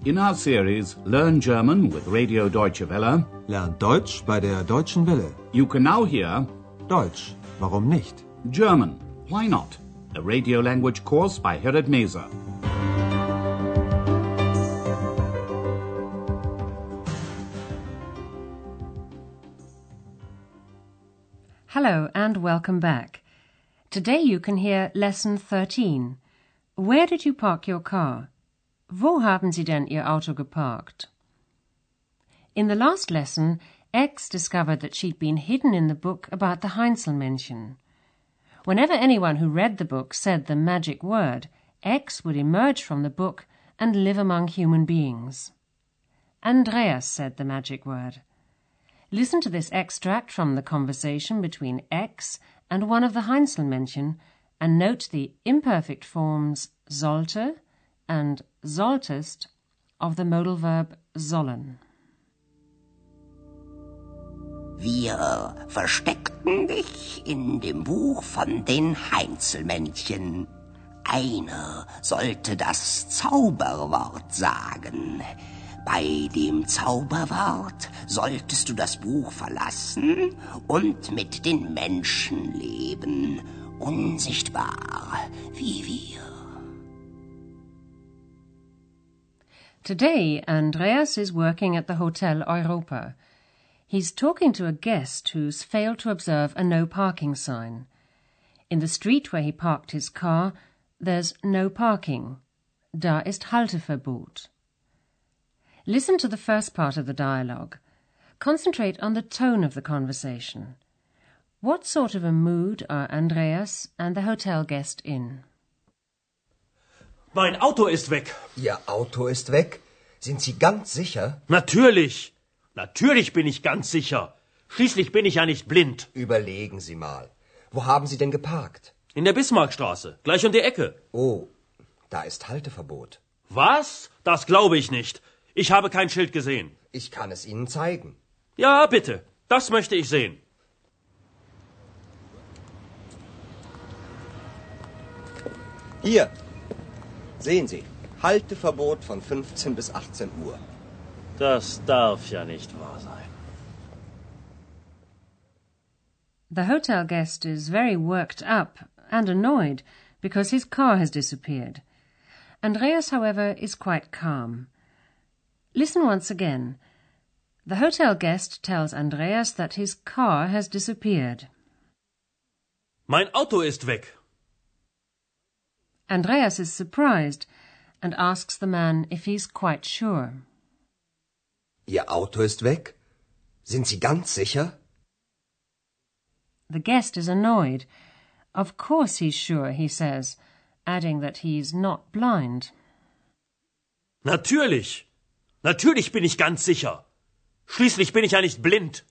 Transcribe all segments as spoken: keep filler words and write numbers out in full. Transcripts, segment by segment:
In our series Learn German with Radio Deutsche Welle, Lernt Deutsch bei der Deutschen Welle. you can now hear Deutsch, warum nicht? German, Why Not? A radio language course by Herrad Meese. Hello and welcome back. Today you can hear Lesson thirteen. Where did you park your car? Wo haben Sie denn Ihr Auto geparkt? In the last lesson, X discovered that she'd been hidden in the book about the Heinzelmännchen. Whenever anyone who read the book said the magic word, X would emerge from the book and live among human beings. Andreas said the magic word. Listen to this extract from the conversation between X and one of the Heinzelmännchen and note the imperfect forms sollte and solltest of the modal verb sollen. Wir versteckten dich in dem Buch von den Heinzelmännchen. Einer sollte das Zauberwort sagen. Bei dem Zauberwort solltest du das Buch verlassen und mit den Menschen leben, unsichtbar wie wir. Today, Andreas is working at the Hotel Europa. He's talking to a guest who's failed to observe a no parking sign. In the street where he parked his car, there's no parking. Da ist Halteverbot. Listen to the first part of the dialogue. Concentrate on the tone of the conversation. What sort of a mood are Andreas and the hotel guest in? Mein Auto ist weg. Ihr Auto ist weg? Sind Sie ganz sicher? Natürlich. Natürlich bin ich ganz sicher. Schließlich bin ich ja nicht blind. Überlegen Sie mal. Wo haben Sie denn geparkt? In der Bismarckstraße, gleich um die Ecke. Oh, da ist Halteverbot. Was? Das glaube ich nicht. Ich habe kein Schild gesehen. Ich kann es Ihnen zeigen. Ja, bitte. Das möchte ich sehen. Hier. Sehen Sie. Halteverbot von fünfzehn bis achtzehn Uhr. Das darf ja nicht wahr sein. The hotel guest is very worked up and annoyed because his car has disappeared. Andreas, however, is quite calm. Listen once again. The hotel guest tells Andreas that his car has disappeared. Mein Auto ist weg. Andreas is surprised and asks the man if he's quite sure. Ihr Auto ist weg? Sind Sie ganz sicher? The guest is annoyed. Of course he's sure, he says, adding that he's not blind. Natürlich. Natürlich bin ich ganz sicher. Schließlich bin ich ja nicht blind.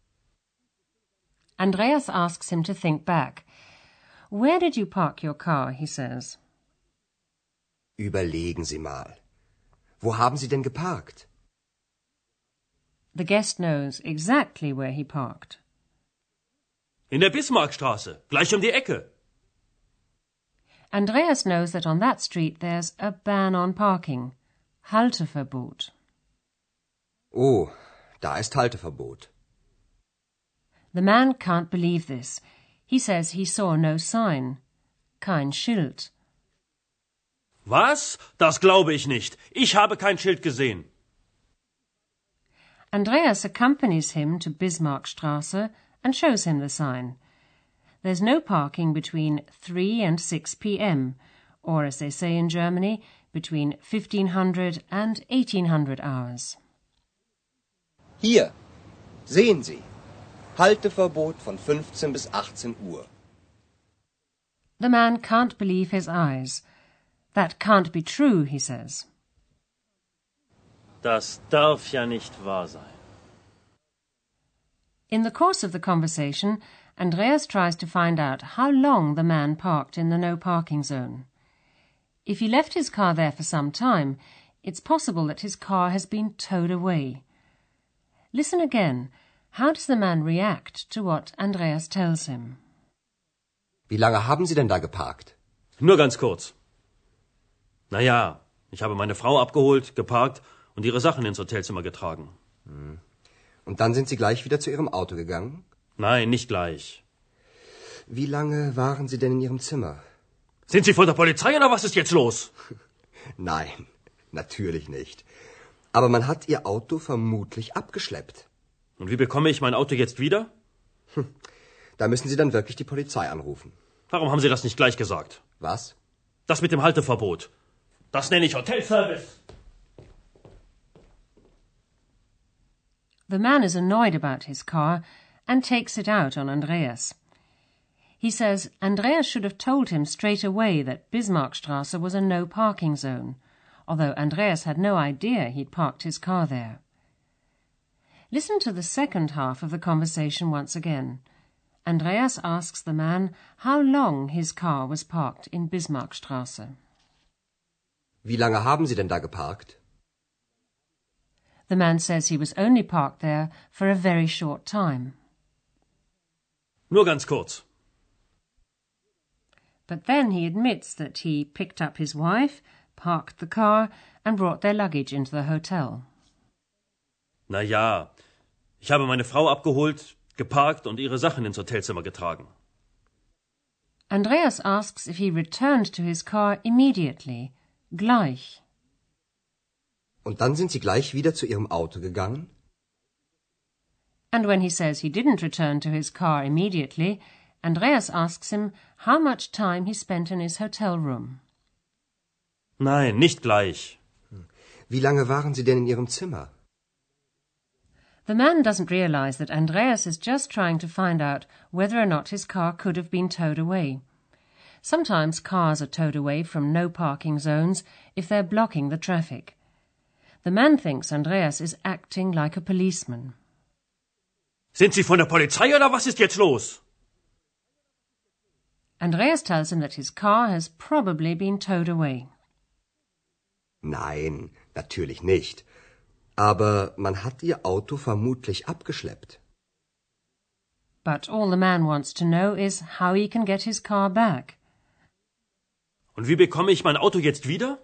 Andreas asks him to think back. Where did you park your car, he says. Überlegen Sie mal. Wo haben Sie denn geparkt? The guest knows exactly where he parked. In der Bismarckstraße, gleich um die Ecke. Andreas knows that on that street there's a ban on parking. Halteverbot. Oh, da ist Halteverbot. The man can't believe this. He says he saw no sign. Kein Schild. Was? Das glaube ich nicht. Ich habe kein Schild gesehen. Andreas accompanies him to Bismarckstraße and shows him the sign. There's no parking between three and six p.m., or as they say in Germany, between fifteen hundred and eighteen hundred hours. Hier. Sehen Sie. Halteverbot von fünfzehn bis achtzehn Uhr. The man can't believe his eyes. That can't be true, he says. Das darf ja nicht wahr sein. In the course of the conversation, Andreas tries to find out how long the man parked in the no parking zone. If he left his car there for some time, it's possible that his car has been towed away. Listen again. How does the man react to what Andreas tells him? Wie lange haben Sie denn da geparkt? Nur ganz kurz. Na ja, ich habe meine Frau abgeholt, geparkt und ihre Sachen ins Hotelzimmer getragen. Hm. Und dann sind Sie gleich wieder zu Ihrem Auto gegangen? Nein, nicht gleich. Wie lange waren Sie denn in Ihrem Zimmer? Sind Sie von der Polizei oder was ist jetzt los? Nein, natürlich nicht. Aber man hat Ihr Auto vermutlich abgeschleppt. Und wie bekomme ich mein Auto jetzt wieder? Hm. Da müssen Sie dann wirklich die Polizei anrufen. Warum haben Sie das nicht gleich gesagt? Was? Das mit dem Halteverbot. Das nenne ich Hotelservice. The man is annoyed about his car and takes it out on Andreas. He says Andreas should have told him straight away that Bismarckstrasse was a no-parking zone, although Andreas had no idea he'd parked his car there. Listen to the second half of the conversation once again. Andreas asks the man how long his car was parked in Bismarckstrasse. Wie lange haben Sie denn da geparkt? The man says he was only parked there for a very short time. Nur ganz kurz. But then he admits that he picked up his wife, parked the car, and brought their luggage into the hotel. Na ja, ich habe meine Frau abgeholt, geparkt und ihre Sachen ins Hotelzimmer getragen. Andreas asks if he returned to his car immediately, gleich. Und dann sind Sie gleich wieder zu Ihrem Auto gegangen? And when he says he didn't return to his car immediately, Andreas asks him how much time he spent in his hotel room. Nein, nicht gleich. Wie lange waren Sie denn in Ihrem Zimmer? The man doesn't realize that Andreas is just trying to find out whether or not his car could have been towed away. Sometimes cars are towed away from no parking zones if they're blocking the traffic. The man thinks Andreas is acting like a policeman. Sind Sie von der Polizei oder was ist jetzt los? Andreas tells him that his car has probably been towed away. Nein, natürlich nicht. Aber man hat Ihr Auto vermutlich abgeschleppt. But all the man wants to know is how he can get his car back. Und wie bekomme ich mein Auto jetzt wieder?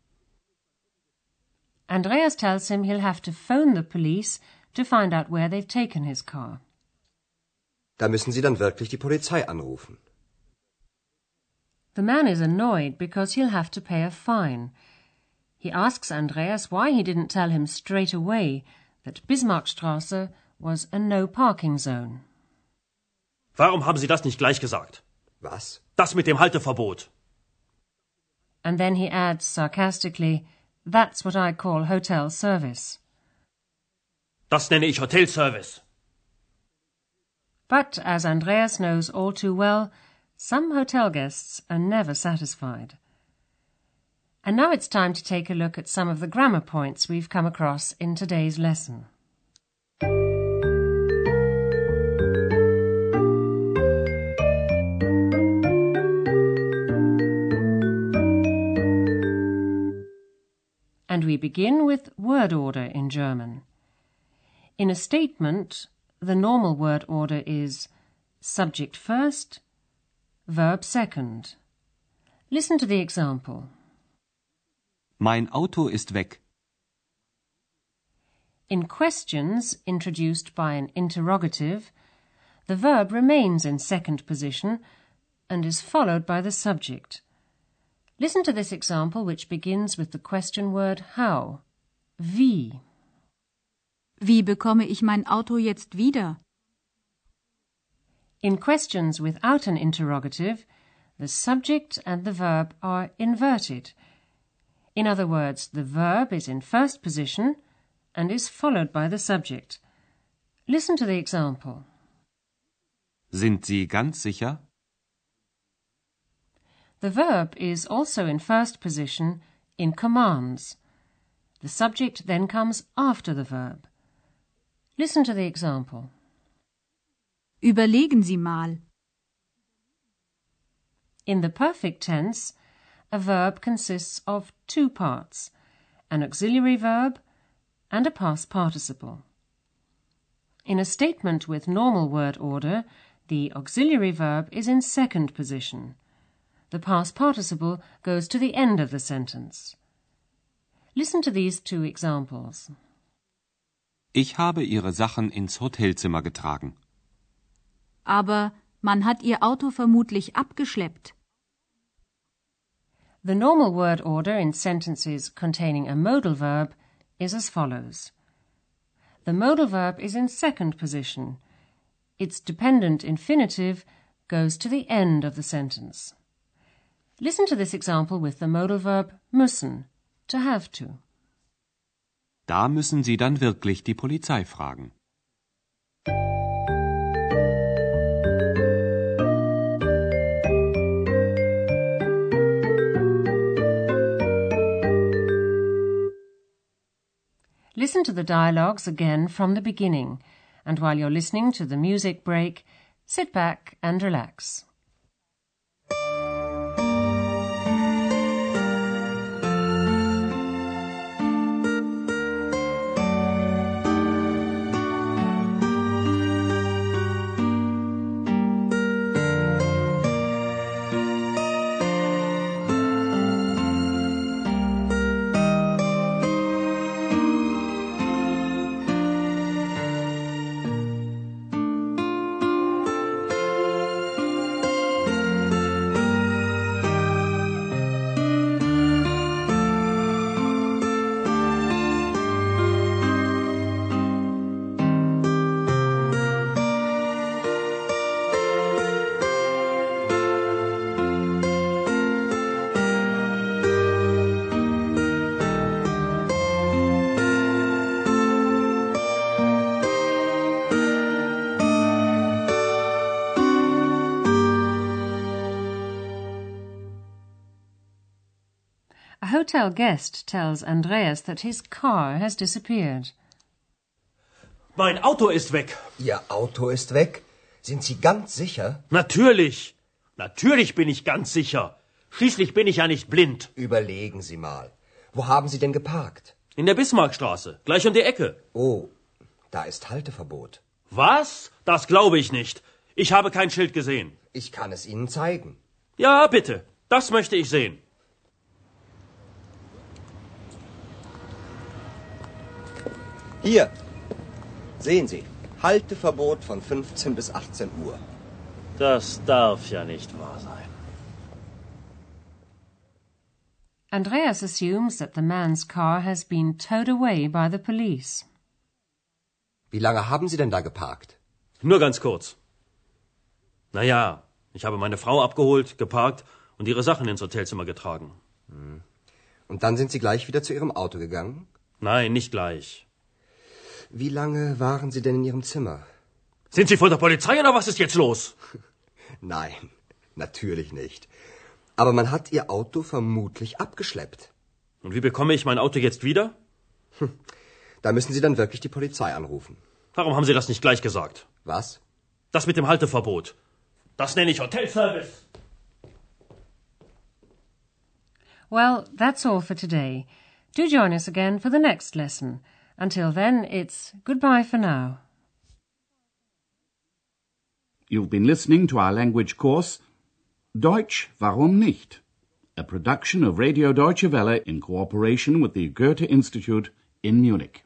Andreas tells him he'll have to phone the police to find out where they've taken his car. Da müssen Sie dann wirklich die Polizei anrufen. The man is annoyed because he'll have to pay a fine. He asks Andreas why he didn't tell him straight away that Bismarckstrasse was a no-parking zone. Warum haben Sie das nicht gleich gesagt? Was? Das mit dem Halteverbot. And then he adds sarcastically, that's what I call hotel service. Das nenne ich Hotelservice. But, as Andreas knows all too well, some hotel guests are never satisfied. And now it's time to take a look at some of the grammar points we've come across in today's lesson. And we begin with word order in German. In a statement, the normal word order is subject first, verb second. Listen to the example. Mein Auto ist weg. In questions introduced by an interrogative, the verb remains in second position and is followed by the subject. Listen to this example, which begins with the question word how. Wie. Wie bekomme ich mein Auto jetzt wieder? In questions without an interrogative, the subject and the verb are inverted. In other words, the verb is in first position and is followed by the subject. Listen to the example. Sind Sie ganz sicher? The verb is also in first position in commands. The subject then comes after the verb. Listen to the example. Überlegen Sie mal. In the perfect tense, a verb consists of two parts, an auxiliary verb and a past participle. In a statement with normal word order, the auxiliary verb is in second position. The past participle goes to the end of the sentence. Listen to these two examples. Ich habe Ihre Sachen ins Hotelzimmer getragen. Aber man hat Ihr Auto vermutlich abgeschleppt. The normal word order in sentences containing a modal verb is as follows. The modal verb is in second position. Its dependent infinitive goes to the end of the sentence. Listen to this example with the modal verb müssen, to have to. Da müssen Sie dann wirklich die Polizei fragen. Listen to the dialogues again from the beginning, and while you're listening to the music break, sit back and relax. A hotel guest tells Andreas that his car has disappeared. Mein Auto ist weg. Ihr Auto ist weg? Sind Sie ganz sicher? Natürlich. Natürlich bin ich ganz sicher. Schließlich bin ich ja nicht blind. Überlegen Sie mal. Wo haben Sie denn geparkt? In der Bismarckstraße, gleich um die Ecke. Oh, da ist Halteverbot. Was? Das glaube ich nicht. Ich habe kein Schild gesehen. Ich kann es Ihnen zeigen. Ja, bitte. Das möchte ich sehen. Hier, sehen Sie, Halteverbot von fünfzehn bis achtzehn Uhr. Das darf ja nicht wahr sein. Andreas assumes that the man's car has been towed away by the police. Wie lange haben Sie denn da geparkt? Nur ganz kurz. Na ja, ich habe meine Frau abgeholt, geparkt und ihre Sachen ins Hotelzimmer getragen. Und dann sind Sie gleich wieder zu Ihrem Auto gegangen? Nein, nicht gleich. Wie lange waren Sie denn in Ihrem Zimmer? Sind Sie von der Polizei oder was ist jetzt los? Nein, natürlich nicht. Aber man hat Ihr Auto vermutlich abgeschleppt. Und wie bekomme ich mein Auto jetzt wieder? Da müssen Sie dann wirklich die Polizei anrufen. Warum haben Sie das nicht gleich gesagt? Was? Das mit dem Halteverbot. Das nenne ich Hotelservice. Well, that's all for today. Do join us again for the next lesson. Until then, it's goodbye for now. You've been listening to our language course, Deutsch, warum nicht? A production of Radio Deutsche Welle in cooperation with the Goethe Institute in Munich.